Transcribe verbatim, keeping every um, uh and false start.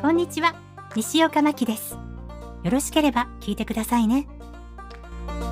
こんにちは、西岡真希です。よろしければ聞いてくださいね。